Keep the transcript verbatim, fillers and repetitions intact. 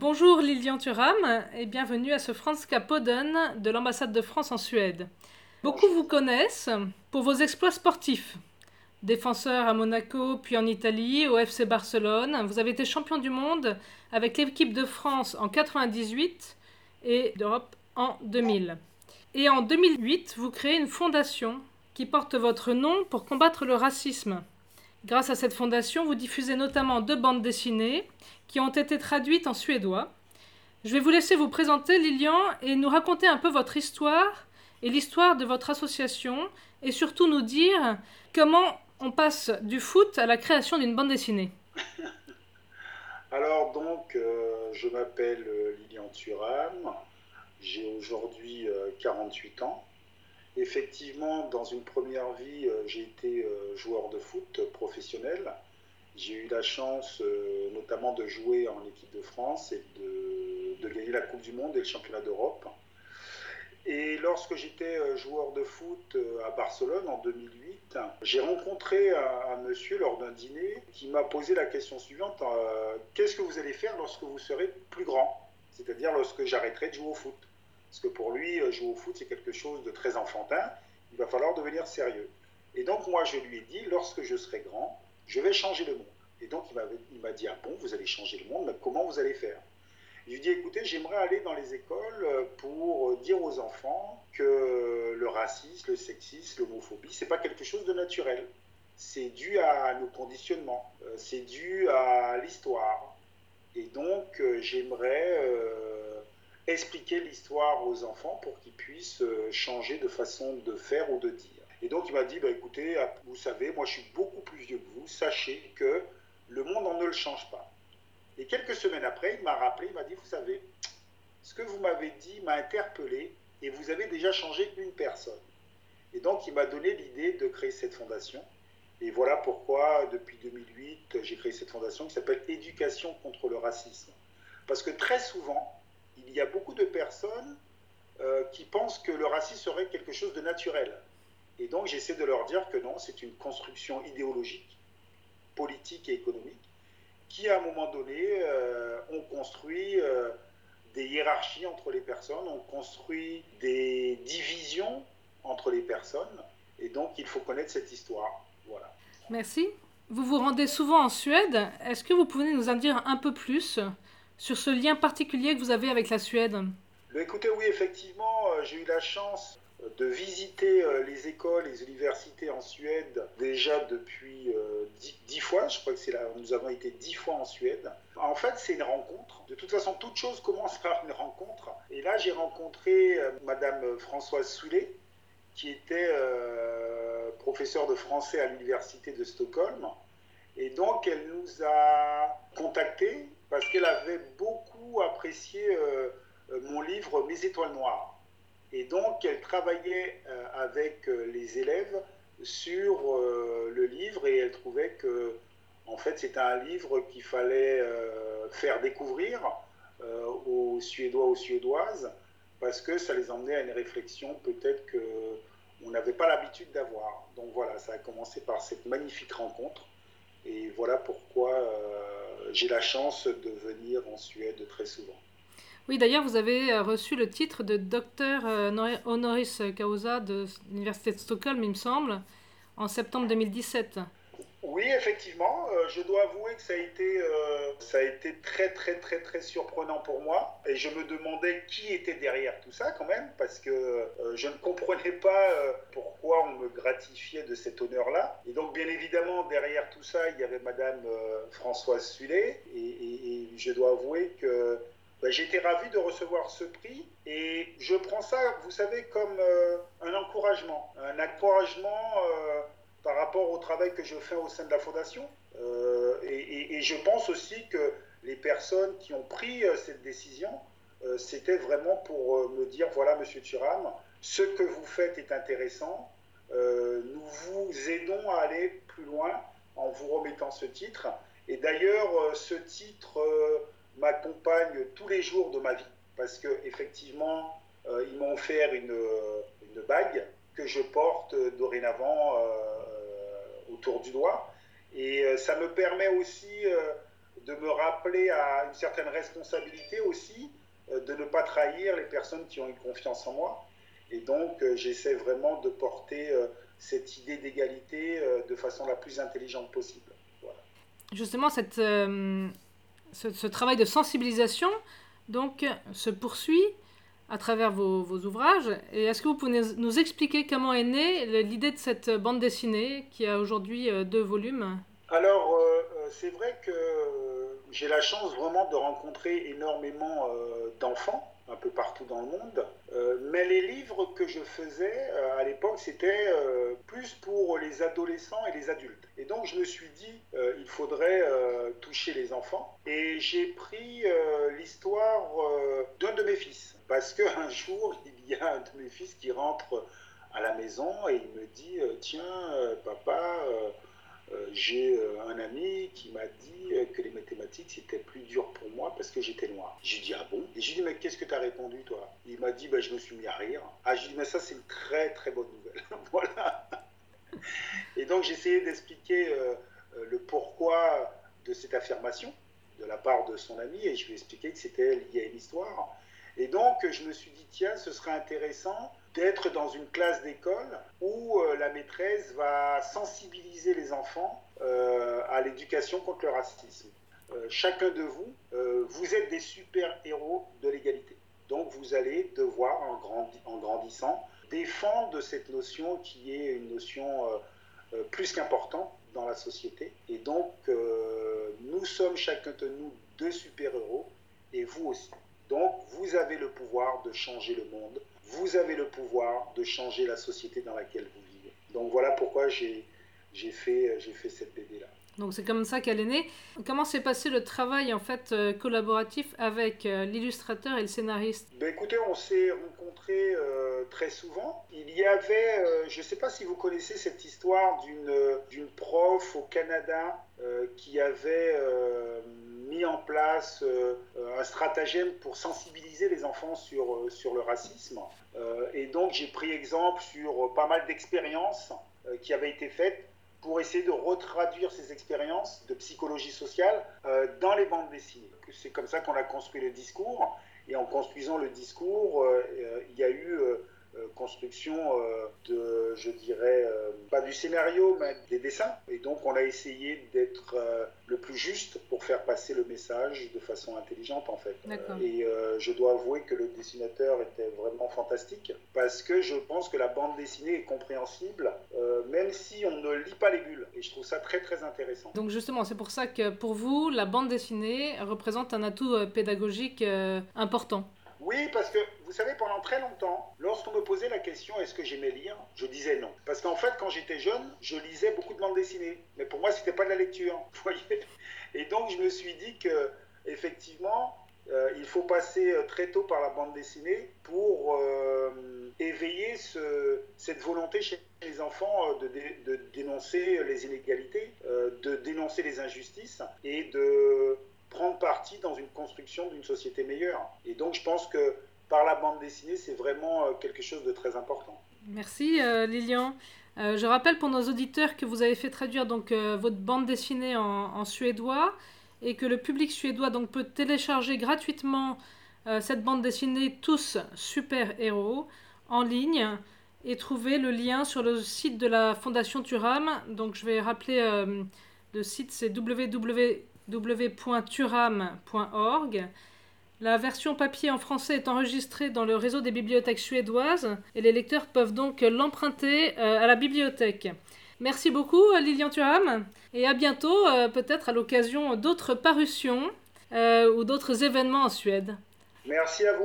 Bonjour Lilian Thuram et bienvenue à ce Franska Podden de l'ambassade de France en Suède. Beaucoup Bonjour. vous connaissent pour vos exploits sportifs. Défenseur à Monaco puis en Italie au F C Barcelone, vous avez été champion du monde avec l'équipe de France en quatre-vingt-dix-huit et d'Europe en deux mille. Et en deux mille huit, vous créez une fondation qui porte votre nom pour combattre le racisme. Grâce à cette fondation, vous diffusez notamment deux bandes dessinées qui ont été traduites en suédois. Je vais vous laisser vous présenter, Lilian, et nous raconter un peu votre histoire et l'histoire de votre association, et surtout nous dire comment on passe du foot à la création d'une bande dessinée. Alors donc, euh, je m'appelle euh, Lilian Thuram, j'ai aujourd'hui euh, quarante-huit ans. Effectivement, dans une première vie, euh, j'ai été euh, joueur de foot professionnel. J'ai eu la chance euh, notamment de jouer en équipe de France et de, de gagner la Coupe du Monde et le championnat d'Europe. Et lorsque j'étais euh, joueur de foot euh, à Barcelone en deux mille huit, j'ai rencontré un, un monsieur lors d'un dîner qui m'a posé la question suivante, euh, qu'est-ce que vous allez faire lorsque vous serez plus grand? C'est-à-dire lorsque j'arrêterai de jouer au foot. Parce que pour lui, euh, jouer au foot, c'est quelque chose de très enfantin, il va falloir devenir sérieux. Et donc moi, je lui ai dit, lorsque je serai grand, je vais changer le monde. Et donc il, il m'a dit, ah bon, vous allez changer le monde, mais comment vous allez faire? Je lui dis, écoutez, j'aimerais aller dans les écoles pour dire aux enfants que le racisme, le sexisme, l'homophobie, c'est pas quelque chose de naturel. C'est dû à nos conditionnements, c'est dû à l'histoire. Et donc, j'aimerais euh, expliquer l'histoire aux enfants pour qu'ils puissent changer de façon de faire ou de dire. Et donc, il m'a dit, bah, écoutez, vous savez, moi je suis beaucoup plus vieux que vous, sachez que le monde on ne le change pas. Et quelques semaines après, il m'a rappelé, il m'a dit, vous savez, ce que vous m'avez dit m'a interpellé et vous avez déjà changé une personne. Et donc, il m'a donné l'idée de créer cette fondation. Et voilà pourquoi, depuis deux mille huit, j'ai créé cette fondation qui s'appelle Éducation contre le racisme. Parce que très souvent, il y a beaucoup de personnes euh, qui pensent que le racisme serait quelque chose de naturel. Et donc, j'essaie de leur dire que non, c'est une construction idéologique, politique et économique qui, à un moment donné, euh, ont construit euh, des hiérarchies entre les personnes, ont construit des divisions entre les personnes, et donc il faut connaître cette histoire. Voilà. Merci. Vous vous rendez souvent en Suède. Est-ce que vous pouvez nous en dire un peu plus sur ce lien particulier que vous avez avec la Suède? Mais écoutez, oui, effectivement, euh, j'ai eu la chance de visiter euh, les écoles, les universités en Suède déjà depuis euh, dix, dix fois. Je crois que c'est là, nous avons été dix fois en Suède. En fait, c'est une rencontre. De toute façon, toute chose commence par une rencontre. Et là, j'ai rencontré euh, Madame Françoise Soulet, qui était euh, professeure de français à l'université de Stockholm. Et donc, elle nous a contactés parce qu'elle avait beaucoup apprécié euh, mon livre Mes étoiles noires. Et donc, elle travaillait euh, avec euh, les élèves sur euh, le livre et elle trouvait que, en fait, c'était un livre qu'il fallait euh, faire découvrir euh, aux Suédois, aux Suédoises, parce que ça les emmenait à une réflexion peut-être qu'on n'avait pas l'habitude d'avoir. Donc voilà, ça a commencé par cette magnifique rencontre. Et voilà pourquoi euh, j'ai la chance de venir en Suède très souvent. Oui, d'ailleurs, vous avez reçu le titre de docteur honoris causa de l'Université de Stockholm, il me semble, en septembre deux mille dix-sept. Oui, effectivement, euh, je dois avouer que ça a été, euh, ça a été très très très très surprenant pour moi et je me demandais qui était derrière tout ça quand même parce que euh, je ne comprenais pas euh, pourquoi on me gratifiait de cet honneur-là. Et donc bien évidemment derrière tout ça il y avait Madame euh, Françoise Sullet et, et, et je dois avouer que ben, j'étais ravi de recevoir ce prix et je prends ça, vous savez, comme euh, un encouragement, un encouragement. Euh, par rapport au travail que je fais au sein de la Fondation. Euh, et, et, et, je pense aussi que les personnes qui ont pris euh, cette décision, euh, c'était vraiment pour euh, me dire, voilà, Monsieur Thuram, ce que vous faites est intéressant, euh, nous vous aidons à aller plus loin en vous remettant ce titre. Et d'ailleurs, euh, ce titre euh, m'accompagne tous les jours de ma vie, parce qu'effectivement, euh, ils m'ont offert une, une bague que je porte dorénavant euh, autour du doigt. Et euh, ça me permet aussi euh, de me rappeler à une certaine responsabilité aussi, euh, de ne pas trahir les personnes qui ont eu confiance en moi. Et donc, euh, j'essaie vraiment de porter euh, cette idée d'égalité euh, de façon la plus intelligente possible. Voilà. Justement, cette, euh, ce, ce travail de sensibilisation donc, se poursuit à travers vos, vos ouvrages. Et est-ce que vous pouvez nous expliquer comment est née l'idée de cette bande dessinée qui a aujourd'hui euh, deux volumes? Alors, euh, c'est vrai que j'ai la chance vraiment de rencontrer énormément euh, d'enfants un peu partout dans le monde. Euh, mais les livres que je faisais euh, à l'époque, c'était euh, plus pour les adolescents et les adultes. Et donc je me suis dit, euh, il faudrait euh, toucher les enfants. Et j'ai pris euh, l'histoire euh, d'un de mes fils. Parce qu'un jour, il y a un de mes fils qui rentre à la maison et il me dit, euh, tiens, euh, papa... Euh, Euh, j'ai euh, un ami qui m'a dit euh, que les mathématiques c'était plus dur pour moi parce que j'étais noir. J'ai dit ah bon? Et j'ai dit mais qu'est-ce que tu as répondu toi? Il m'a dit bah, je me suis mis à rire. Ah j'ai dit mais ça c'est une très très bonne nouvelle. Voilà. Et donc j'ai essayé d'expliquer euh, le pourquoi de cette affirmation de la part de son ami et je lui ai expliqué que c'était lié à une histoire. Et donc je me suis dit tiens ce serait intéressant d'être dans une classe d'école où euh, la maîtresse va sensibiliser les enfants euh, à l'éducation contre le racisme. Euh, chacun de vous, euh, vous êtes des super-héros de l'égalité. Donc vous allez devoir, en, grandi- en grandissant, défendre cette notion qui est une notion euh, euh, plus qu'importante dans la société. Et donc euh, nous sommes chacun de nous deux super-héros et vous aussi. Donc vous avez le pouvoir de changer le monde. Vous avez le pouvoir de changer la société dans laquelle vous vivez. Donc voilà pourquoi j'ai, j'ai, fait, j'ai fait cette B D-là. Donc c'est comme ça qu'elle est née. Comment s'est passé le travail en fait euh, collaboratif avec euh, l'illustrateur et le scénariste? Ben écoutez, on s'est rencontrés euh, très souvent. Il y avait, euh, je ne sais pas si vous connaissez cette histoire d'une, d'une prof au Canada euh, qui avait euh, mis en place euh, un stratagème pour sensibiliser les enfants sur, euh, sur le racisme. Euh, et donc j'ai pris exemple sur pas mal d'expériences euh, qui avaient été faites pour essayer de retraduire ces expériences de psychologie sociale euh, dans les bandes dessinées. C'est comme ça qu'on a construit le discours. Et en construisant le discours, euh, il y a eu euh, construction euh, de, je dirais, euh, pas du scénario, mais des dessins. Et donc on a essayé d'être euh, le plus juste pour faire passer le message de façon intelligente en fait. D'accord. Et euh, je dois avouer que le dessinateur était vraiment fantastique parce que je pense que la bande dessinée est compréhensible euh, même si on ne lit pas les bulles. Et je trouve ça très très intéressant. Donc justement, c'est pour ça que pour vous, la bande dessinée représente un atout euh, pédagogique euh, important. Oui, parce que vous savez, pendant très longtemps, lorsqu'on me posait la question est-ce que j'aimais lire, je disais non. Parce qu'en fait, quand j'étais jeune, je lisais beaucoup de bandes dessinées. Mais pour moi, c'était pas de la lecture, vous voyez. Et donc, je me suis dit que, effectivement, euh, il faut passer très tôt par la bande dessinée pour euh, éveiller ce, cette volonté chez les enfants de, dé, de dénoncer les inégalités, euh, de dénoncer les injustices et de prendre parti dans une construction d'une société meilleure. Et donc je pense que par la bande dessinée, c'est vraiment quelque chose de très important. Merci euh, Lilian. Euh, je rappelle pour nos auditeurs que vous avez fait traduire donc, euh, votre bande dessinée en, en suédois et que le public suédois donc, peut télécharger gratuitement euh, cette bande dessinée Tous Super Héros en ligne et trouver le lien sur le site de la Fondation Thuram. Donc je vais rappeler euh, le site, c'est w w w point thuram point org. La version papier en français est enregistrée dans le réseau des bibliothèques suédoises et les lecteurs peuvent donc l'emprunter euh, à la bibliothèque. Merci beaucoup Lilian Thuram et à bientôt, euh, peut-être à l'occasion d'autres parutions euh, ou d'autres événements en Suède. Merci à vous.